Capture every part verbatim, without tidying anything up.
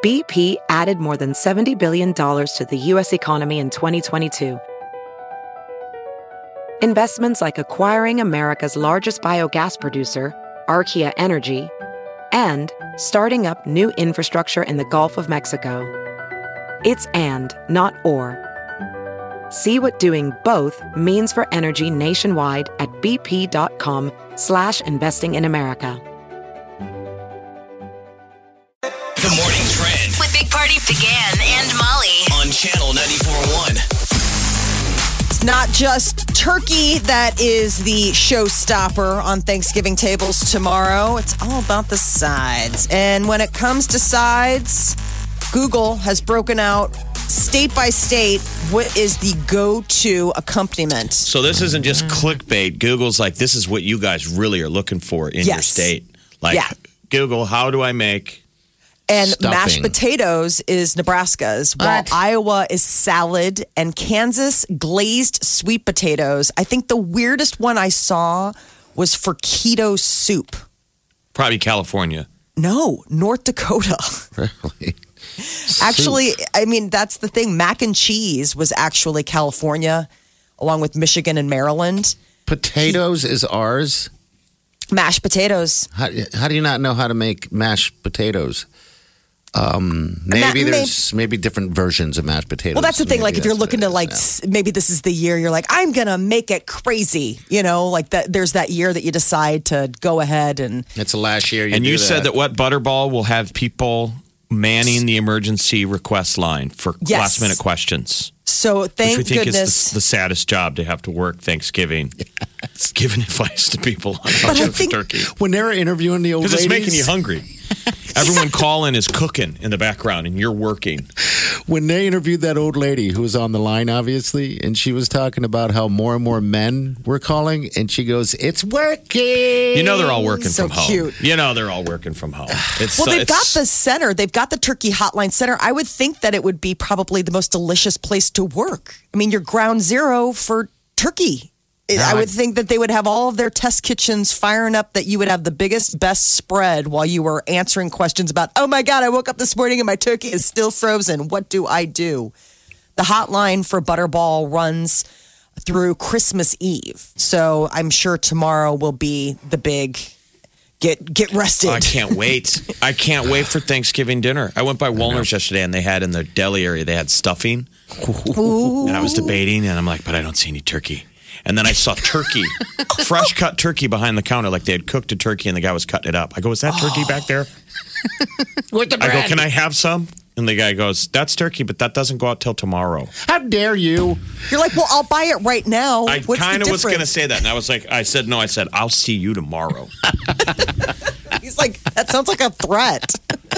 B P added more than seventy billion dollars to the U S economy in twenty twenty-two. Investments like acquiring America's largest biogas producer, Archaea Energy, and starting up new infrastructure in the Gulf of Mexico. It's and, not or. See what doing both means for energy nationwide at bp.com slash investing in America. The Morning Trend with Big Party began and Molly on Channel ninety-four point one. It's not just turkey that is the showstopper on Thanksgiving tables tomorrow. It's all about the sides. And when it comes to sides, Google has broken out state by state what is the go-to accompaniment. So this isn't just clickbait. Google's like, this is what you guys really are looking for in Yes. your state. Like, Yeah. Google, how do I make... And Stuffing. mashed potatoes is Nebraska's, while What? Iowa is salad, and Kansas glazed sweet potatoes. I think the weirdest one I saw was for keto soup. Probably California. No, North Dakota. Really? Actually, I mean, that's the thing. Mac and cheese was actually California, along with Michigan and Maryland. Potatoes is ours. Mashed potatoes. How, how do you not know how to make mashed potatoes? Um, maybe ma- there's maybe different versions of mashed potatoes. Well, that's the thing. Maybe Like, if you're that's looking what to it like, is, s- maybe this is the year you're like, I'm gonna make it crazy. You know, like that. There's that year that you decide to go ahead and. yeah. It's the last year. You and do you said that what Butterball will have people manning the emergency request line for Yes. last minute questions. So thank which we think goodness. is the, the saddest job to have to work Thanksgiving. It's giving advice to people on how But I to cook think- turkey. when they were interviewing the old Because ladies, it's making you hungry. Everyone calling is cooking in the background and you're working. when they interviewed that old lady who was on the line, obviously, and she was talking about how more and more men were calling, and she goes, "It's working." You know they're all working So from home. cute. You know they're all working from home. It's, Well, uh, they've got it's- the center. They've got the Turkey Hotline Center. I would think that it would be probably the most delicious place to work. I mean, you're ground zero for turkey. It- I would think that they would have all of their test kitchens firing up, that you would have the biggest, best spread while you were answering questions about, oh my God, I woke up this morning and my turkey is still frozen. What do I do? The hotline for Butterball runs through Christmas Eve. So I'm sure tomorrow will be the big get get rested. Oh, I can't wait. I can't wait for Thanksgiving dinner. I went by Woolner's yesterday and they had in the deli area, they had stuffing. Ooh. And I was debating and I'm like, but I don't see any turkey. And then I saw turkey, fresh cut turkey behind the counter, like they had cooked a turkey and the guy was cutting it up. I go, is that turkey back there? With the I go, bread. can I have some? And the guy goes, that's turkey, but that doesn't go out till tomorrow. How dare you? You're like, well, I'll buy it right now. I What's kind the of was going to difference? say that. And I was like, I said, no, I said, I'll see you tomorrow. He's like, that sounds like a threat.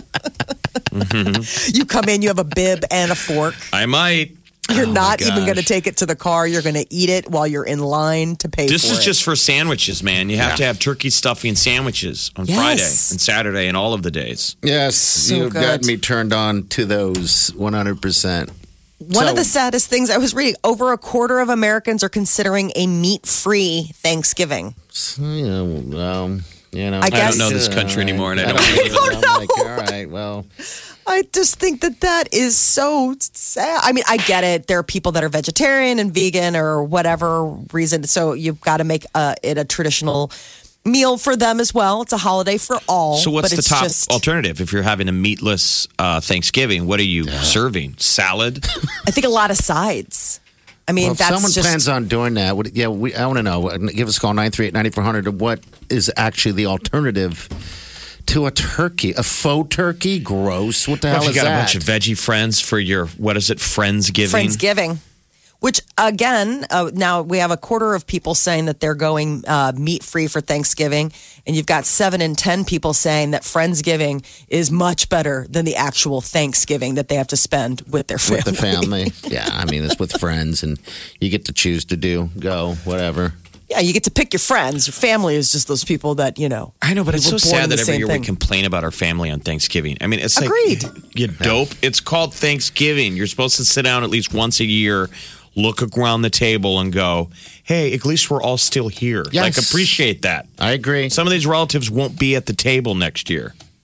Mm-hmm. You come in, you have a bib and a fork. I might. You're Oh, my not even gosh. going to take it to the car. You're going to eat it while you're in line to pay This for is it. just for sandwiches, man. You have Yeah. to have turkey stuffing sandwiches on Yes. Friday and Saturday and all of the days. Yes, you've good. got me turned on to those one hundred percent. One So- of the saddest things I was reading, over a quarter of Americans are considering a meat-free Thanksgiving. You know, um, you know, I I guess- don't know this country anymore, and I don't. even know. don't I'm like, know. all right, well, I just think that that is so sad. I mean, I get it. There are people that are vegetarian and vegan or whatever reason. So you've got to make uh, it a traditional meal for them as well. It's a holiday for all. So what's but the it's top just, alternative if you're having a meatless uh, Thanksgiving? What are you serving? Salad? I think a lot of sides. I mean, well, if that's someone just. plans on doing that, would, yeah, we, I want to know. Give us a call, nine three eight, nine four hundred. What is actually the alternative to a turkey? A faux turkey? Gross. What the Well, hell if you is got that? a bunch of veggie friends for your, what is it, Friendsgiving? Friendsgiving. Which, again, uh, now we have a quarter of people saying that they're going uh, meat free for Thanksgiving. And you've got seven in ten people saying that Friendsgiving is much better than the actual Thanksgiving that they have to spend with their family. With the family. Yeah, I mean, it's with friends, and you get to choose to do, go, whatever. Yeah, you get to pick your friends. Your family is just those people that, you know. I know, but it's we so were born sad in that the every same year thing. we complain about our family on Thanksgiving. I mean, it's Agreed. like, you dope. It's called Thanksgiving. You're supposed to sit down at least once a year, look around the table and go, hey, at least we're all still here. Yes. Like, appreciate that. I agree. Some of these relatives won't be at the table next year.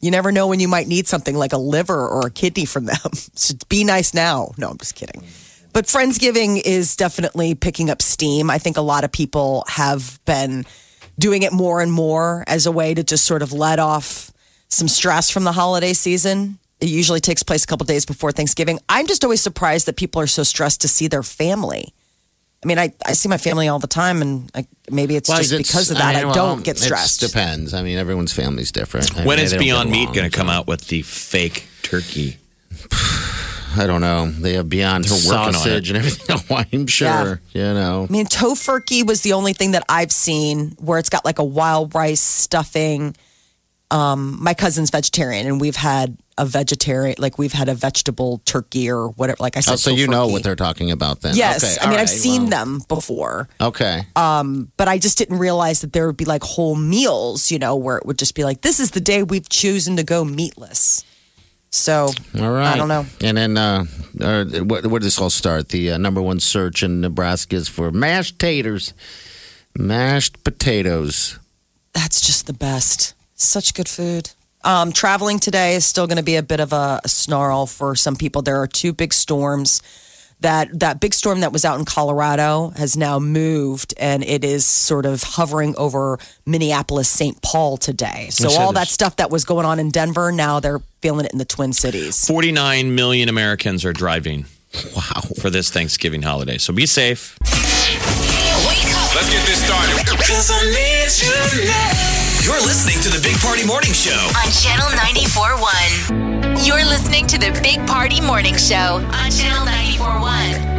You never know when you might need something like a liver or a kidney from them. So be nice now. No, I'm just kidding. But Friendsgiving is definitely picking up steam. I think a lot of people have been doing it more and more as a way to just sort of let off some stress from the holiday season. It usually takes place a couple days before Thanksgiving. I'm just always surprised that people are so stressed to see their family. I mean, I, I see my family all the time, and I, maybe it's Well, just it's- because of that I, mean, well, don't get stressed. It depends. I mean, everyone's family's different. I When mean, is they don't Beyond get Meat along, going to come so- out with the fake turkey? I don't know. They have Beyond They're working on sausage it. and everything. Oh, I'm sure. You know. I mean, tofurkey was the only thing that I've seen where it's got like a wild rice stuffing. Um, my cousin's vegetarian, and we've had a vegetarian, like we've had a vegetable turkey or whatever. Like I said, Oh, so you know tofurkey. what they're talking about then? Yes, Okay, I mean all I've right, seen well, them before, Okay. but I just didn't realize that there would be like whole meals, you know, where it would just be like, this is the day we've chosen to go meatless. So All right. I don't know. And then, uh, uh, where, where did this all start? The uh, number one search in Nebraska is for mashed taters, mashed potatoes. That's just the best. Such good food. Um, traveling today is still going to be a bit of a, a snarl for some people. There are two big storms. That that big storm that was out in Colorado has now moved, and it is sort of hovering over Minneapolis, Saint Paul today. So Which all is- that stuff that was going on in Denver, now they're feeling it in the Twin Cities. forty-nine million Americans are driving Wow. for this Thanksgiving holiday. So be safe. Wake up Let's get this started. You're listening to the Big Party Morning Show. on Channel ninety-four point one. You're listening to the Big Party Morning Show on Channel ninety-four point one.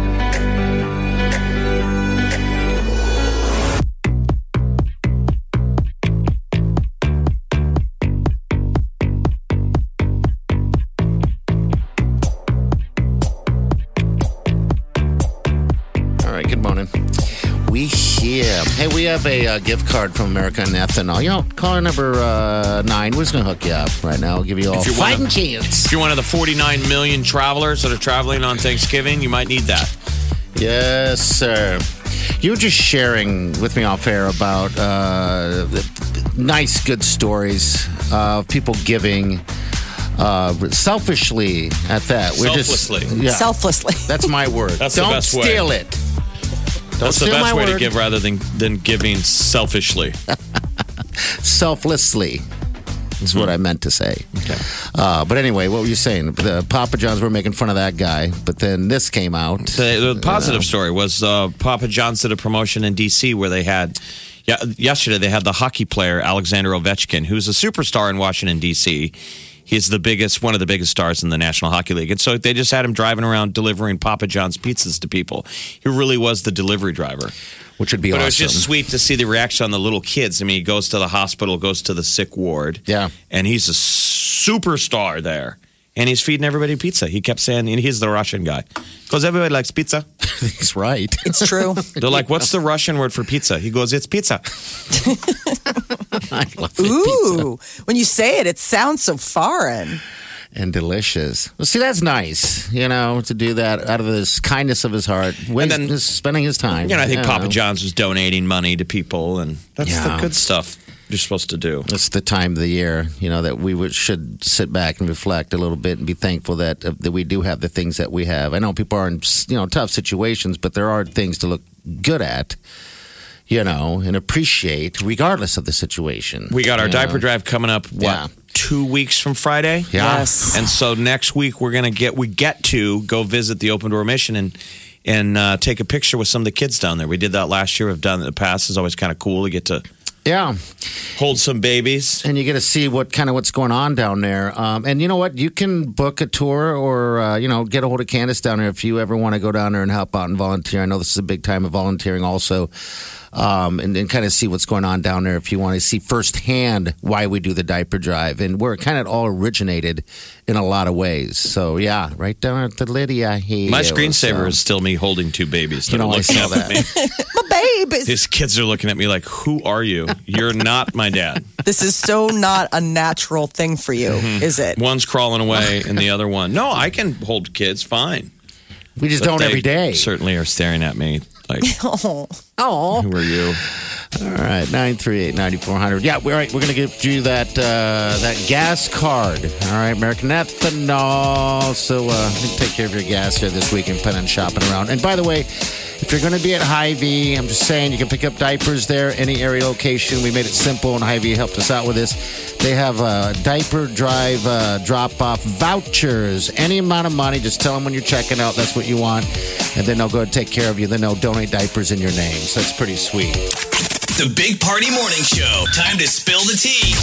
All right, good morning. We here. Hey, we have a uh, gift card from American Ethanol. You know, caller number uh, nine. We're just going to hook you up right now. We'll give you all If you're one fighting of- chance. If you're one of the forty-nine million travelers that are traveling on Thanksgiving, you might need that. Yes, sir. You were just sharing with me off air about uh, nice, good stories of people giving uh, selfishly at that. We're Selflessly. Just, yeah, Selflessly. that's my word. That's the Don't best way. steal it. Don't That's the steal best my way to word. give rather than, than giving selfishly. Selflessly is what I meant to say. Okay. Uh, but anyway, what were you saying? The Papa John's were making fun of that guy, but then this came out. The, the positive story was uh, Papa John's did a promotion in D C where they had, yeah, yesterday they had the hockey player Alexander Ovechkin, who's a superstar in Washington, D C. He's the biggest, one of the biggest stars in the National Hockey League. And so they just had him driving around delivering Papa John's pizzas to people. He really was the delivery driver. Which would be But awesome. it was just sweet to see the reaction on the little kids. I mean, he goes to the hospital, goes to the sick ward. Yeah. And he's a superstar there. And he's feeding everybody pizza. He kept saying, and he's the Russian guy. Because everybody likes pizza. He's right. It's true. They're like, what's the Russian word for pizza? He goes, it's pizza. I love it. Ooh, when you say it, it sounds so foreign. And delicious. Well, see, that's nice, you know, to do that out of this kindness of his heart, with then- just spending his time. You know, I think you Papa know. John's was donating money to people, and that's Yeah. the good stuff you're supposed to do. It's the time of the year, you know, that we would, should sit back and reflect a little bit and be thankful that uh, that we do have the things that we have. I know people are in, you know, tough situations, but there are things to look good at, you know, and appreciate regardless of the situation. We got our you diaper know? drive coming up, what, Yeah. two weeks from Friday? Yeah. Yes. And so next week we're gonna get we get to go visit the Open Door Mission and and uh, take a picture with some of the kids down there. We did that last year. We've done it in the past. It's always kind of cool to get to Yeah. hold some babies. And you get to see what kind of what's going on down there. Um, and you know what? You can book a tour or, uh, you know, get a hold of Candace down there if you ever want to go down there and help out and volunteer. I know this is a big time of volunteering also. Um, and, and kind of see what's going on down there if you want to see firsthand why we do the diaper drive and where it kind of all originated in a lot of ways. So, yeah, right down at the Lydia here. My screensaver So- is still me holding two babies. You that are know, I looking saw up at that. me. My babies. These kids are looking at me like, "Who are you? You're not my dad." This is so not a natural thing for you, Mm-hmm. is it? One's crawling away, and the other one, no, I can hold kids fine. We just But don't they every day. Certainly are staring at me like, Oh. Oh. "Who are you?" All right, nine three eight, nine four zero zero. Yeah, we're right. We're going to give you that uh, that gas card. All right, American Ethanol. So uh, take care of your gas here this week and plan on shopping around. And by the way, if you're going to be at Hy-Vee, I'm just saying you can pick up diapers there, any area location. We made it simple, and Hy-Vee helped us out with this. They have uh, diaper drive uh, drop-off vouchers. Any amount of money, just tell them when you're checking out that's what you want, and then they'll go and take care of you. Then they'll donate diapers in your name. So that's pretty sweet. The Big Party Morning Show. Time to spill the tea.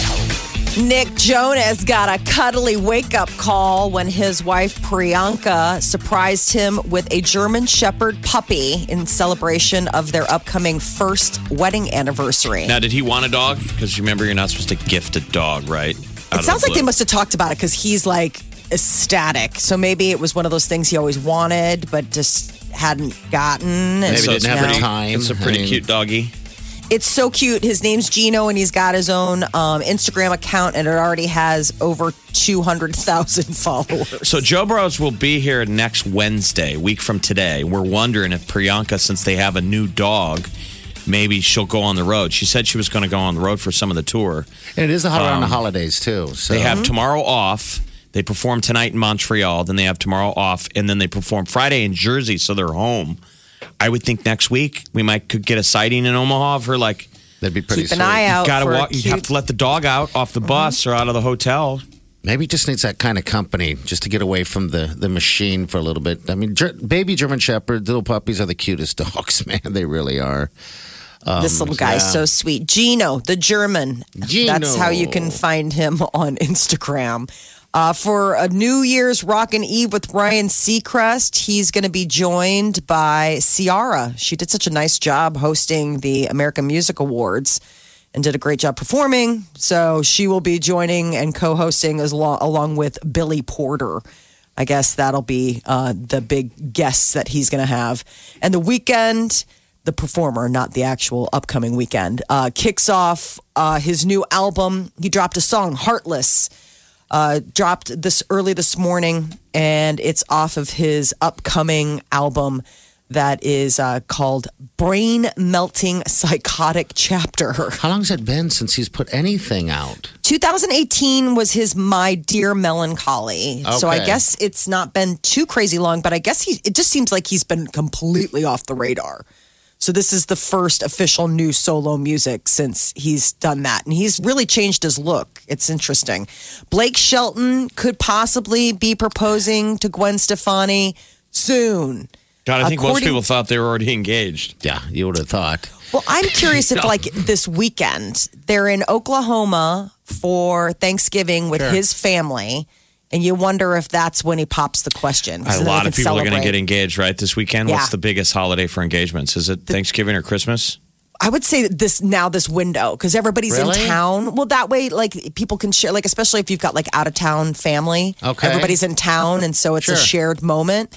Nick Jonas got a cuddly wake-up call when his wife Priyanka surprised him with a German Shepherd puppy in celebration of their upcoming first wedding anniversary. Now, did he want a dog? Because remember, you're not supposed to gift a dog, right? Out It sounds like they must have talked about it because he's like ecstatic. So maybe it was one of those things he always wanted, but just hadn't gotten. Maybe So didn't it's have pretty- the time. It's a pretty I mean, cute doggy. It's so cute. His name's Gino, and he's got his own um, Instagram account, and it already has over two hundred thousand followers. So Joe Burrows will be here next Wednesday, a week from today. We're wondering if Priyanka, since they have a new dog, maybe she'll go on the road. She said she was going to go on the road for some of the tour. And it is the around the Um, holidays, too. So. They have tomorrow off. They perform tonight in Montreal. Then they have tomorrow off. And then they perform Friday in Jersey, so they're home. I would think next week we might could get a sighting in Omaha for like. That'd be pretty Keep an sweet. eye out. Gotta for a walk. You have cute- to let the dog out off the bus or out of the hotel. Maybe he just needs that kind of company just to get away from the, the machine for a little bit. I mean, ger- baby German Shepherds, little puppies are the cutest dogs, man. They really are. Um, This little guy's yeah. so sweet. Gino, the German. Gino. That's how you can find him on Instagram. Uh, for a New Year's Rockin' Eve with Ryan Seacrest, he's going to be joined by Ciara. She did such a nice job hosting the American Music Awards and did a great job performing. So she will be joining and co-hosting as lo- along with Billy Porter. I guess that'll be uh, the big guests that he's going to have. And the weekend, the performer, not the actual upcoming weekend, uh, kicks off uh, his new album. He dropped a song, Heartless. Uh, dropped this early this morning, and it's off of his upcoming album that is uh, called Brain Melting Psychotic Chapter. How long has it been since he's put anything out? twenty eighteen was his My Dear Melancholy. So I Okay. guess it's not been too crazy long, but I guess he, it just seems like he's been completely off the radar. So this is the first official new solo music since he's done that. And he's really changed his look. It's interesting. Blake Shelton could possibly be proposing to Gwen Stefani soon. God, I think most According- people thought they were already engaged. Yeah, you would have thought. Well, I'm curious if, like, this weekend, they're in Oklahoma for Thanksgiving with Sure. his family. And you wonder if that's when he pops the question. A So then lot they of can people are going to celebrate. get engaged, right, this weekend? Yeah. What's the biggest holiday for engagements? Is it Thanksgiving or Christmas? I would say that this now this window because everybody's Really? in town. Well, that way, like people can share, like especially if you've got like out of town family. Okay. everybody's in town, and so it's a Sure. shared moment.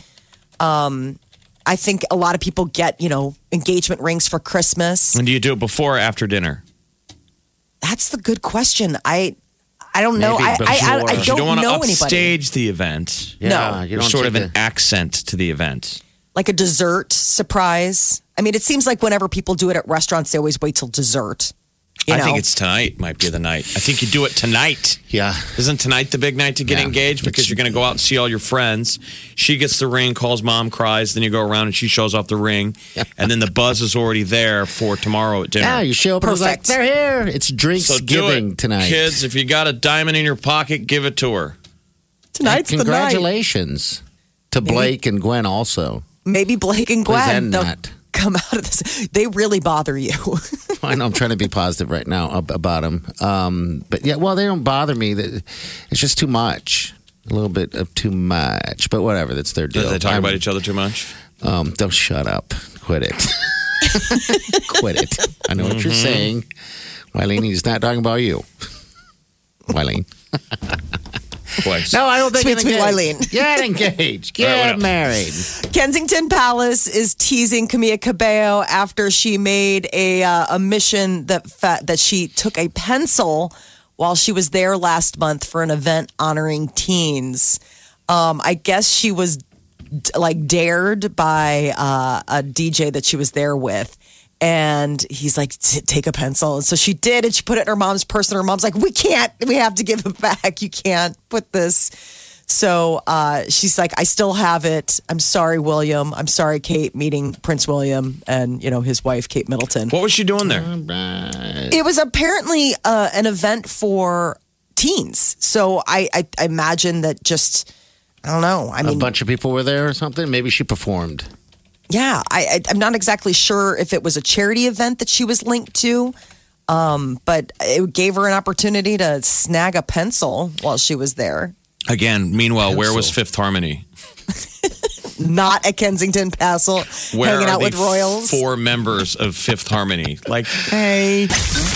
Um, I think a lot of people get you know engagement rings for Christmas. And do you do it before or after dinner? That's the good question. I I don't know. Maybe I, I, I I before. don't, You don't want to know anybody. upstage the event. Yeah, No. you You're don't sort of take an the- accent to the event. Like a dessert surprise. I mean, it seems like whenever people do it at restaurants, they always wait till dessert. You I know? think it's tonight might be the night. I think you do it tonight. Yeah. Isn't tonight the big night to get Yeah. engaged? Because It's- you're going to go out and see all your friends. She gets the ring, calls mom, cries. Then you go around and she shows off the ring. And then the buzz is already there for tomorrow at dinner. Yeah, you show up and it's like, Perfect. they're here. It's so do Drinksgiving it, tonight. kids. If you got a diamond in your pocket, give it to her. Tonight's the night. Congratulations to Blake and Gwen also. Maybe Blake and Gwen Present they'll that. come out of this. They really bother you. I know I'm trying to be positive right now ab- about them. Um, but yeah, well, they don't bother me. That It's just too much. A little bit of too much. But whatever, that's their deal. Do they talk I'm- about each other too much? Um, don't shut up. Quit it. Quit it. I know what you're saying. Wileen, he's not talking about you. Wileen. Twice. No, I don't think Sweet, get sweet engaged. Wileen. Get engaged. All right, what Get else? married. Kensington Palace is teasing Camila Cabello after she made a uh, a mission that fa- that she took a pencil while she was there last month for an event honoring teens. Um, I guess she was d- like dared by uh, a D J that she was there with. And he's like, take a pencil. And so she did, and she put it in her mom's purse, and her mom's like, we can't, we have to give it back. You can't put this. So uh, she's like, I still have it. I'm sorry, William. I'm sorry, Kate, meeting Prince William and, you know, his wife, Kate Middleton. What was she doing there? It was apparently uh, an event for teens. So I, I, I imagine that just, I don't know. I mean, a bunch of people were there or something. Maybe she performed. Yeah, I, I, I'm not exactly sure if it was a charity event that she was linked to, um, but it gave her an opportunity to snag a pencil while she was there. Again, meanwhile, Pencil. where was Fifth Harmony? Not at Kensington Castle, Where hanging are out the with royals. Four members of Fifth Harmony. Like, Hey.